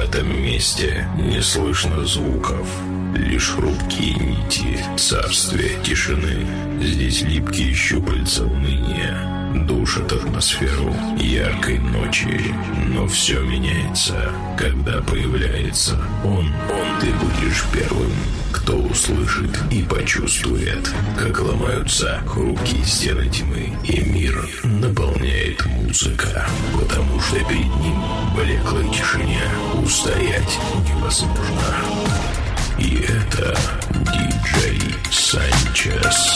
этом месте не слышно звуков, лишь хрупкие нити царствия тишины. Здесь липкие щупальца уныния душат атмосферу яркой ночи. Но все меняется, когда появляется он. Ты будешь первым, кто услышит и почувствует, как ломаются хрупкие стены тьмы, и мир наполняет музыка, потому что перед ним в блеклой тишине устоять невозможно. И это диджей Санчес.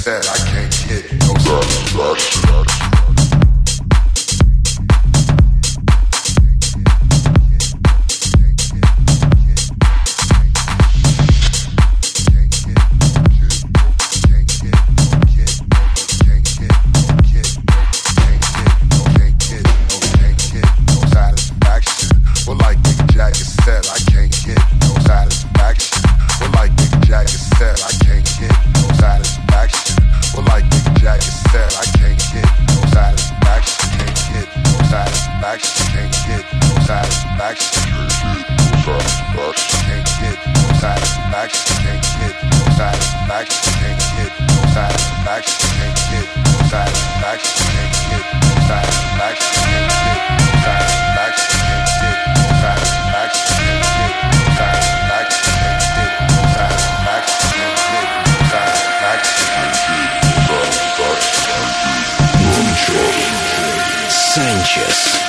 said, I can't get no satisfaction. Sanchez.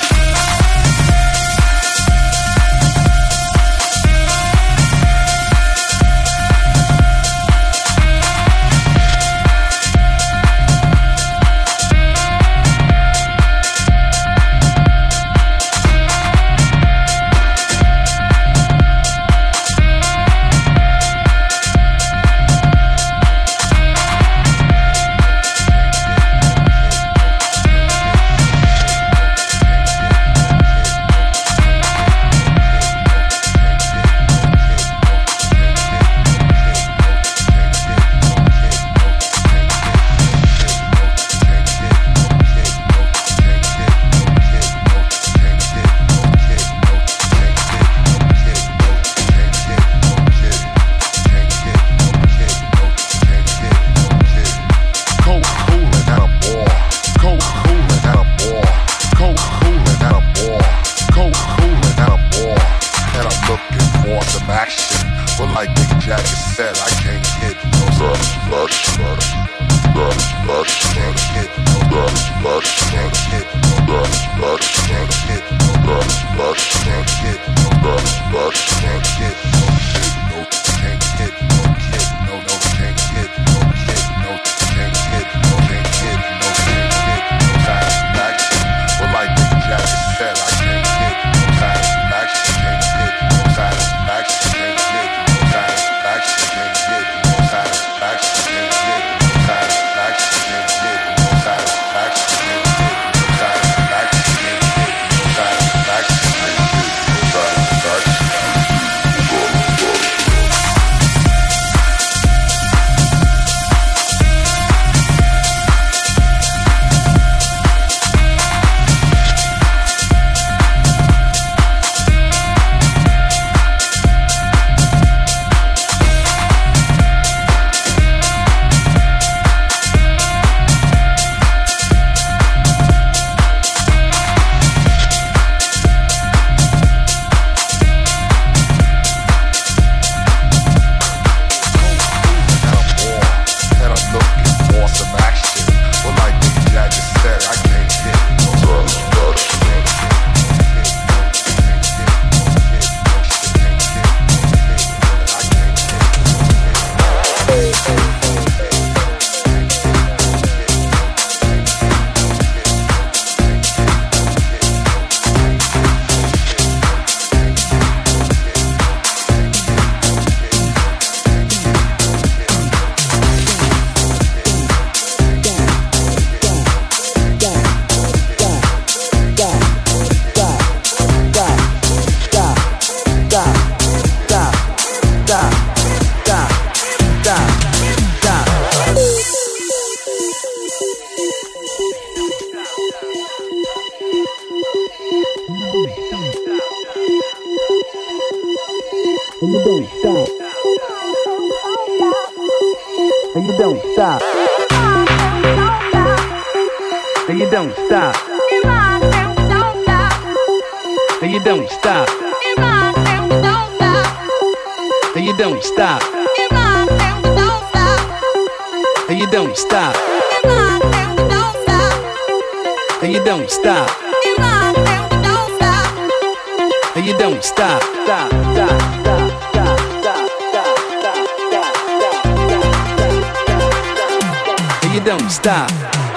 you don't stop.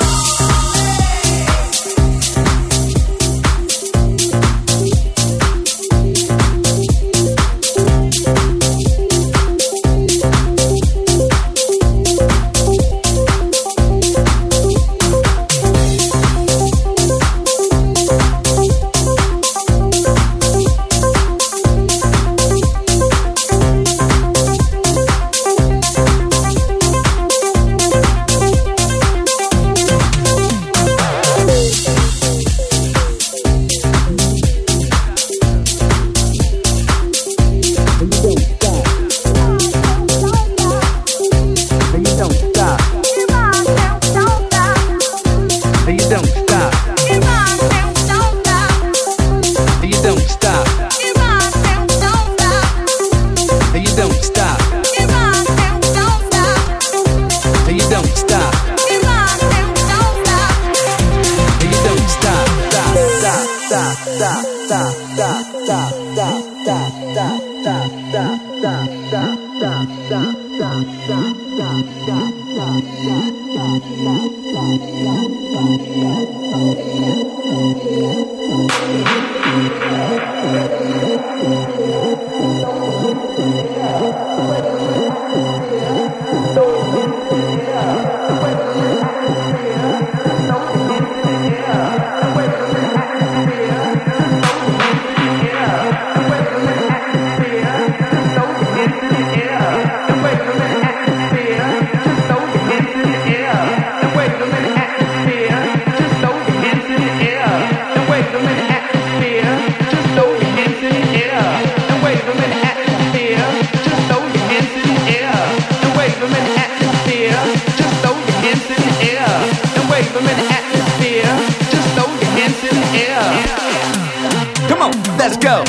Let's go.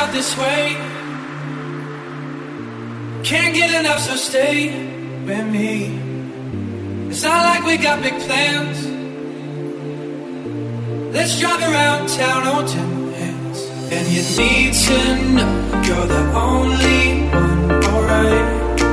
felt this way. Can't get enough, so stay with me. It's not like we got big plans. Let's drive around town on 10 hands. And you need to know you're the only one, alright.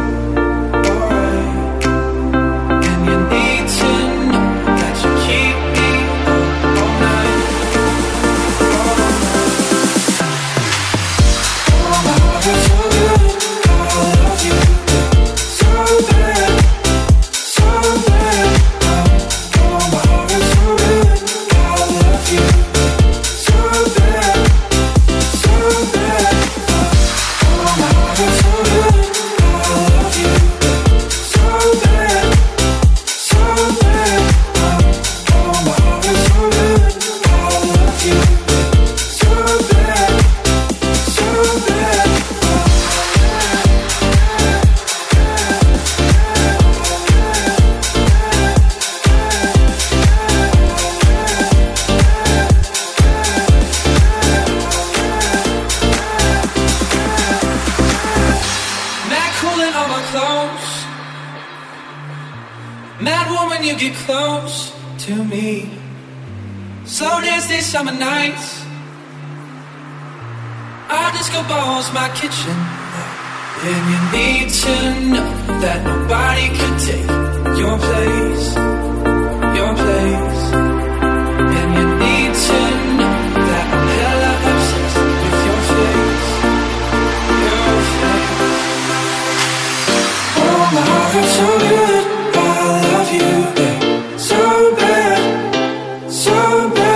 Summer nights, our disco ball's my kitchen. And you need to know that nobody could take your place, your place. And you need to know that I'm hella obsessed with your face, your face. Oh, my heart hurts so good, I love you, babe, so bad, so bad.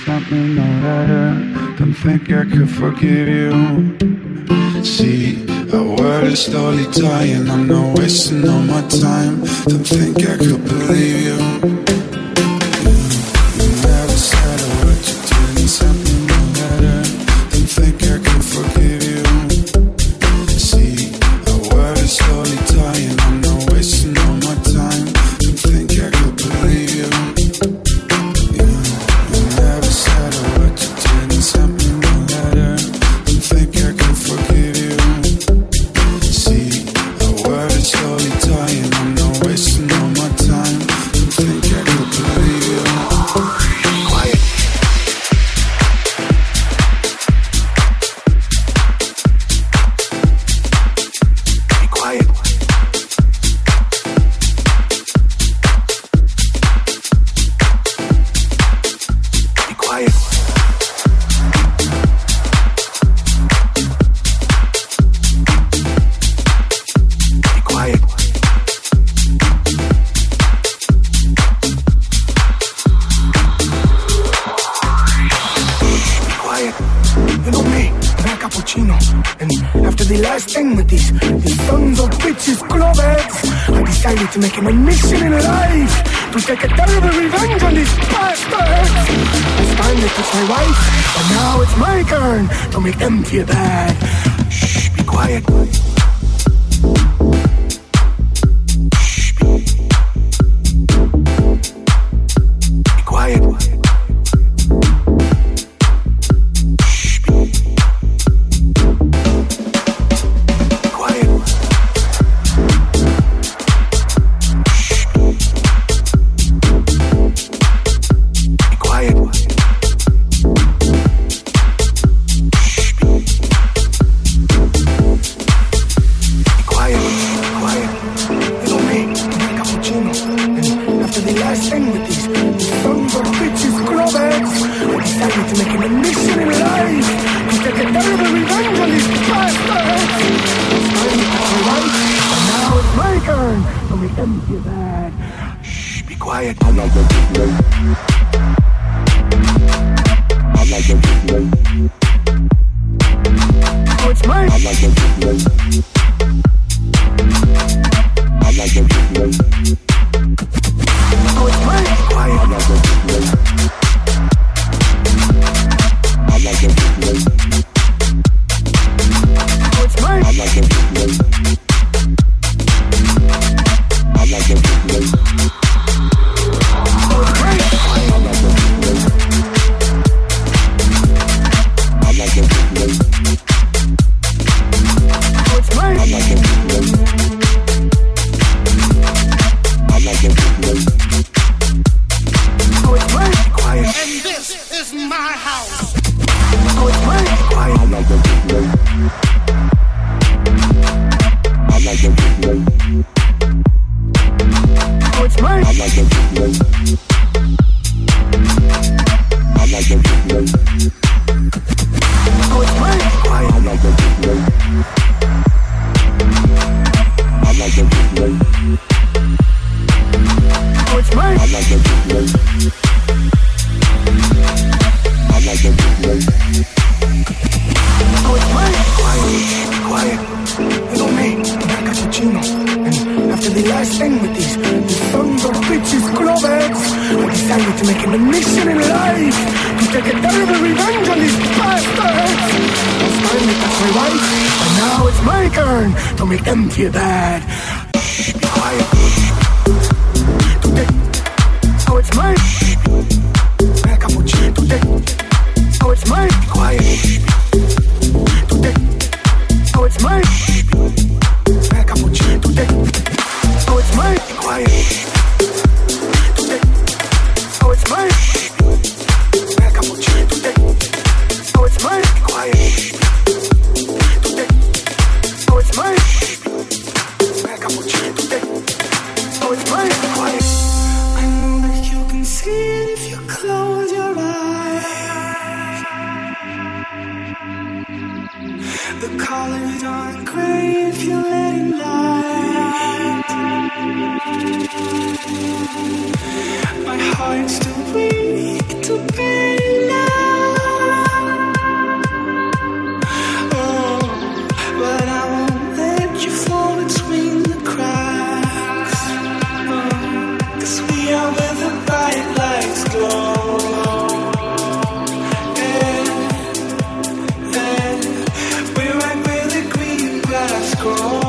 something no better. Don't think I could forgive you. See, our world is slowly dying. I'm not wasting all my time. Don't think I could believe you. You never said a word, you did something no better. Don't think I could forgive you. See, our world is slowly dying. I'm not wasting all my time. Don't think I could believe you. You never said a word, you did something no better. Don't think I could forgive you. See, our world is slowly dying. I'm not wasting all my time. Don't think I could believe you. Quiet. Be quiet. Be quiet. Be quiet. Be quiet. You know me, I'm a cappuccino. And after the last thing with these sons of bitches clubheads, I decided to make it my mission in life to take a terrible revenge on these bastards. It's time they touch my wife, and now it's my turn to make them feel bad. Shh, be quiet. Shh, be quiet. Shh, be quiet. Be quiet. Be quiet. Quiet. You know me, I'm a cappuccino. And after the last thing with these sons of bitches clubheads, I decided to make it a mission in life to take a terrible revenge on these bastards. It's time to touch my wife, and now it's my turn to make them feel bad. Shh, be quiet. I like the display. I like the display. Oh, it's mine. I like the display. I like the display. Oh, it's mine. Quiet. I like the display. I like the display. Oh, it's mine. I like the display. I like the display. Oh, it's mine. I like the display. I like the display. Oh, it's mine. I like the display. I like the display. Oh, it's mine. Quiet. And this is my house. Oh, it's mine. Quiet. I like the display. I like the display. Oh, it's mine. I like the display. I like the display. Oh, it's mine. Quiet. I like the display. I like the display. Oh, it's mine. I like the display. I like the display. Oh, it's mine. Quiet. Quiet. You know me, I'm a cappuccino. And after the last thing with these sons of bitches clubheads, I decided to make it a mission in life to take a terrible revenge on these bastards. It's time to touch my wife, and now it's my turn to make them feel bad. Shh, be quiet. Oh, it's mine. I'm a cappuccino. Oh, it's mine. Be quiet. Oh, it's mine. I'm a cappuccino. Oh, it's mine. Be quiet. Oh, it's mine. I'm a cappuccino. Oh, it's mine. Be quiet. Oh, it's mine. I'm a cappuccino. Oh, it's mine. Be quiet. I know that you can see it if you close your eyes. The colors aren't gray if you let it light. My heart's too weak to bear now. Oh, but I won't let you fall between the cracks. Oh, 'cause we are where the bright lights glow. We're right where the green grass grows.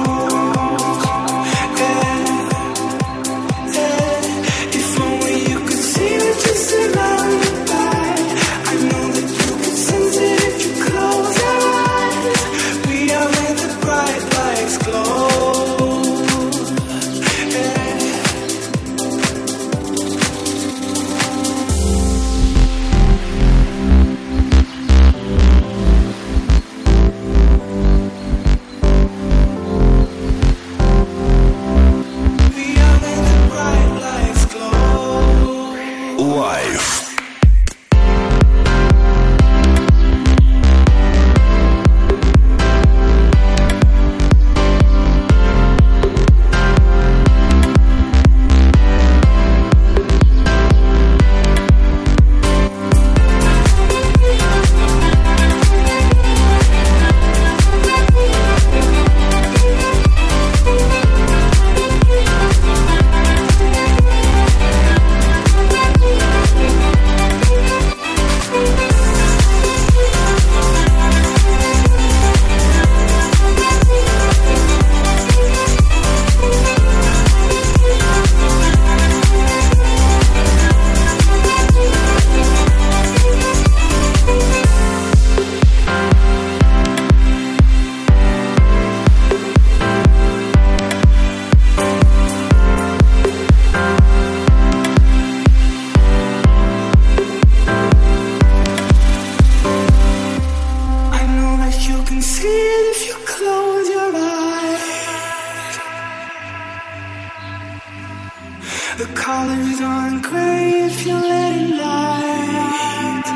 The colors aren't gray if you let it light.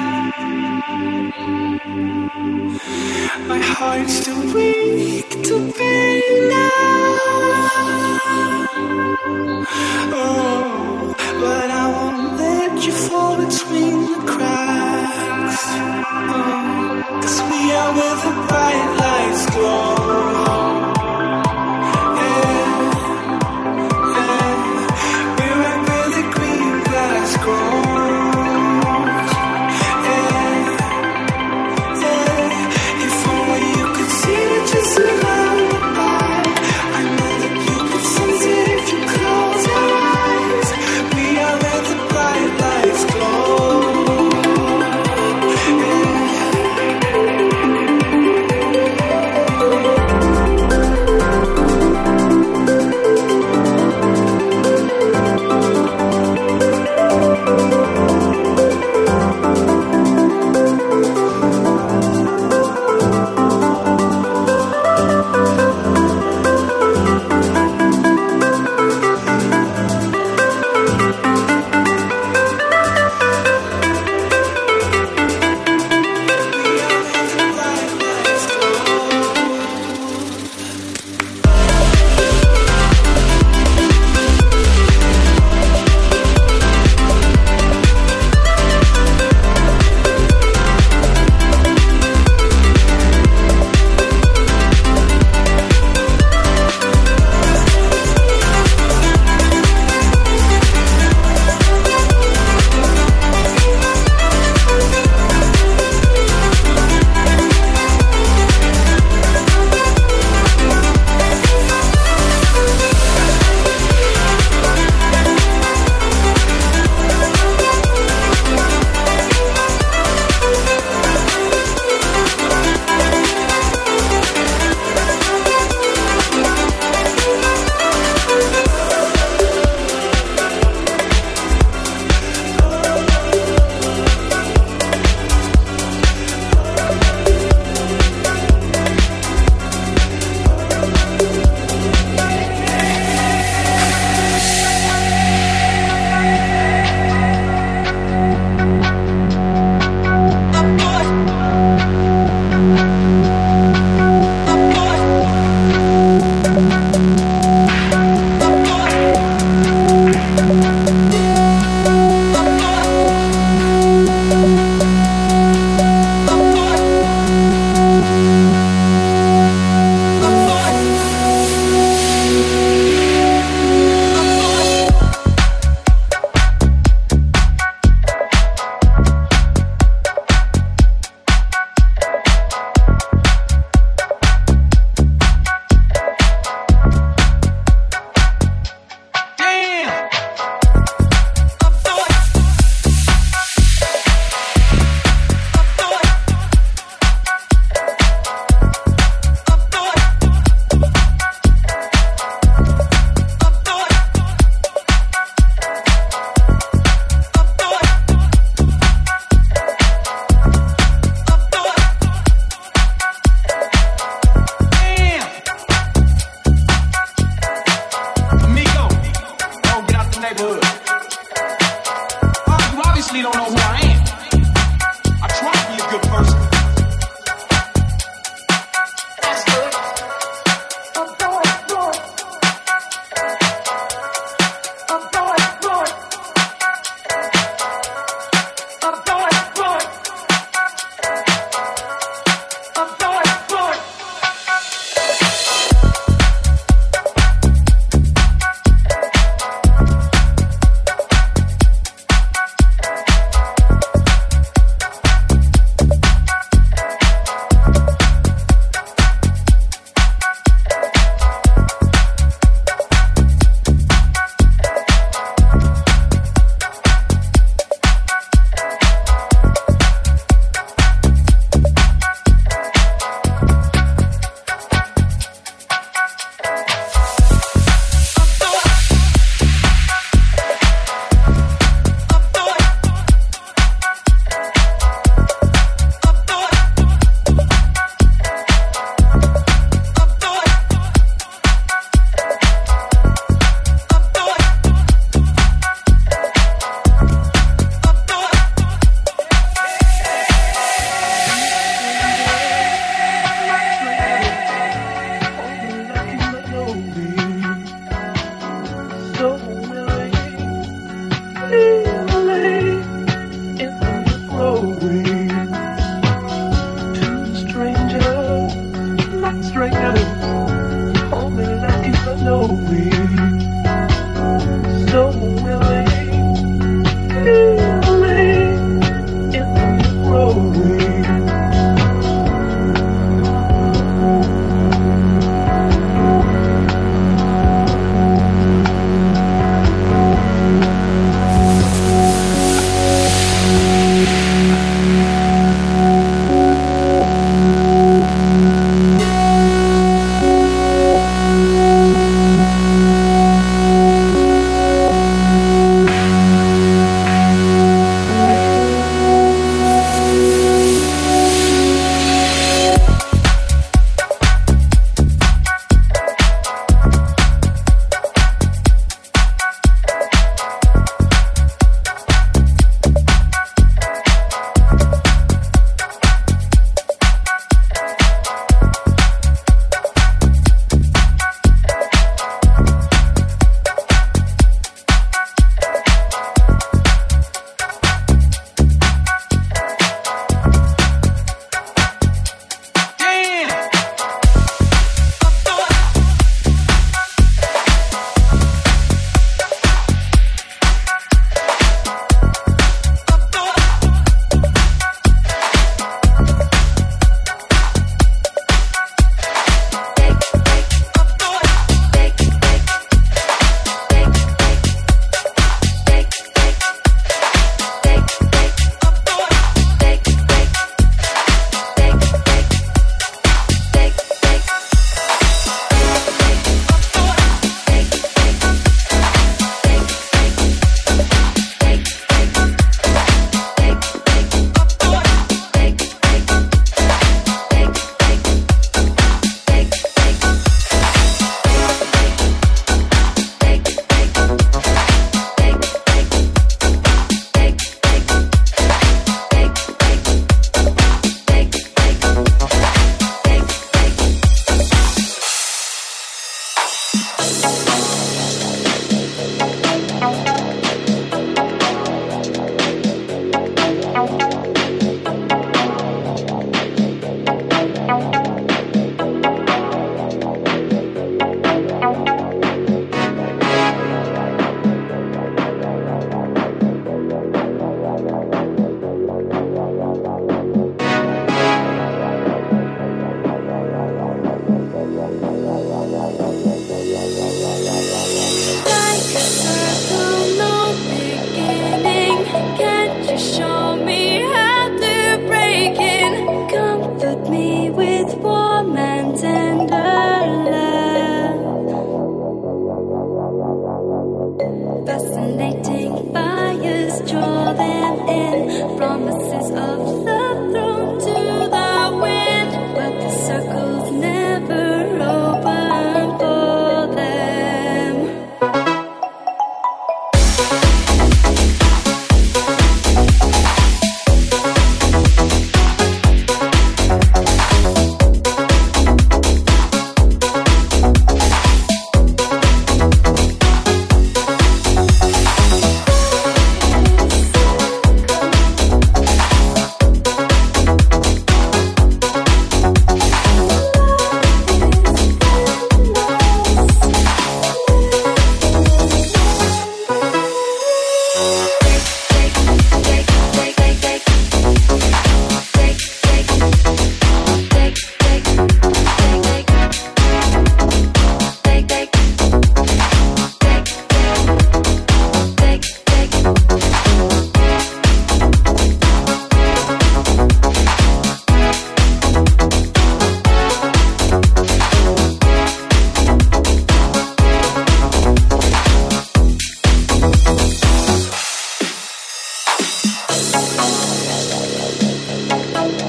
My heart's too weak to bear now. Oh, but I won't let you fall between the cracks. Oh, 'cause we are where the bright lights glow.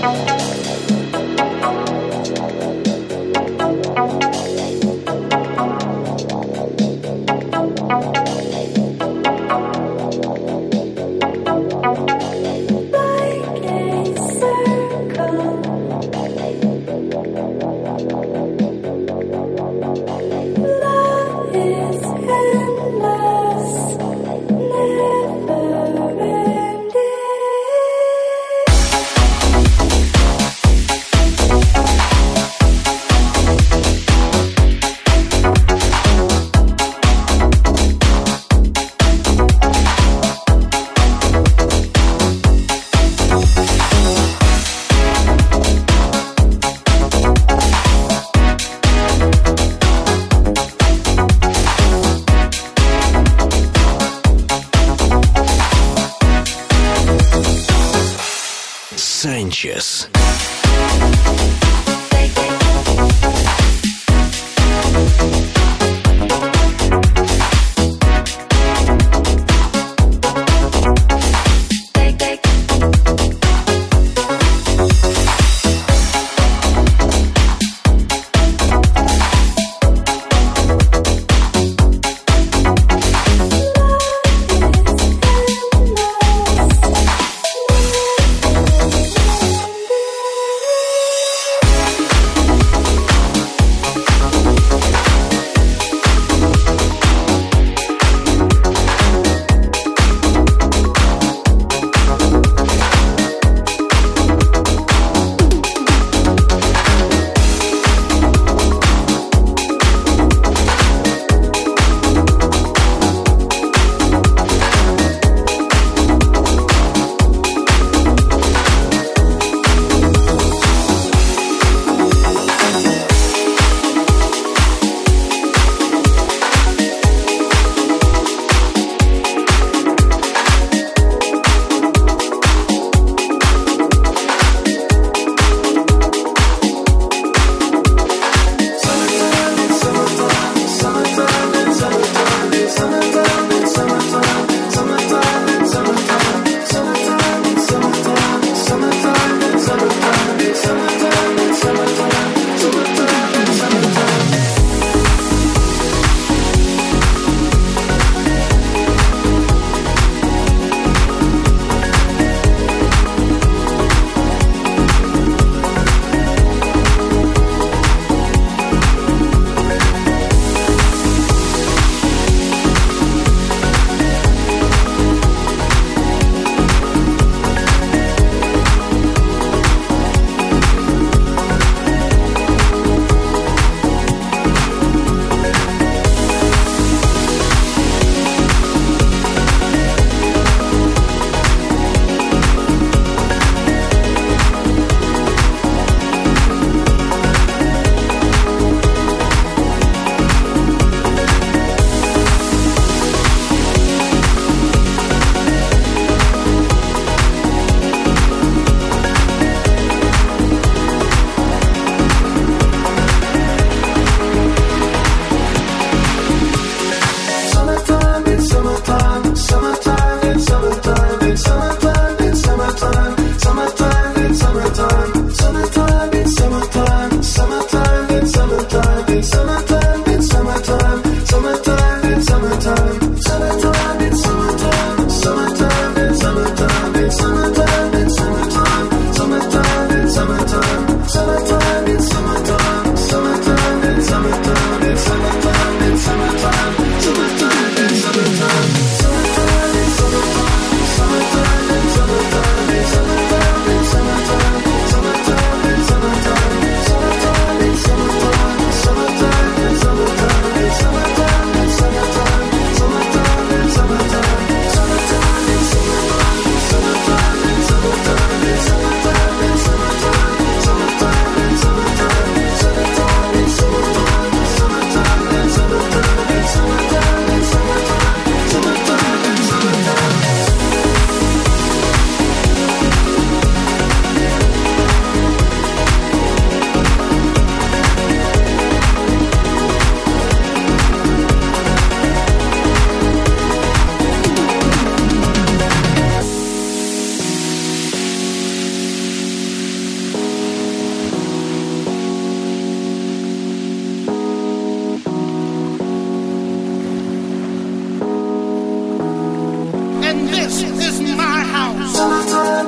Sanchez.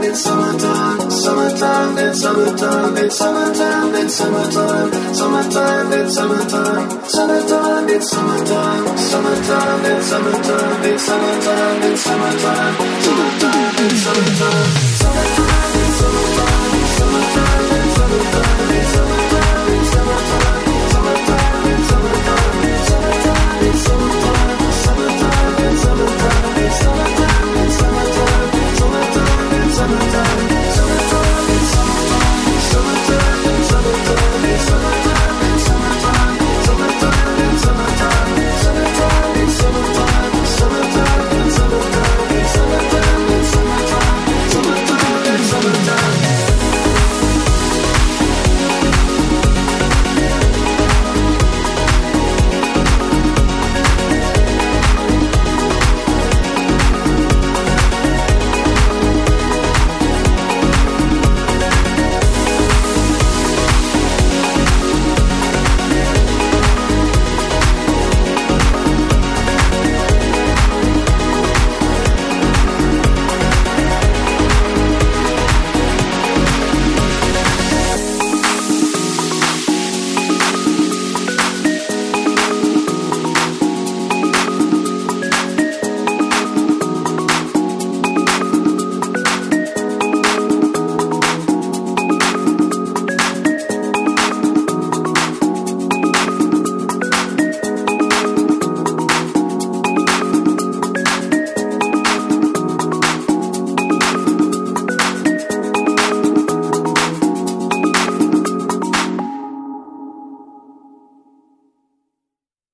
it's summertime, summertime, it's summertime, it's summertime, it's summertime, summertime, it's summertime, summertime, it's summertime, summertime, it's summertime, it's summertime, it's summertime, summertime, it's summertime, summertime.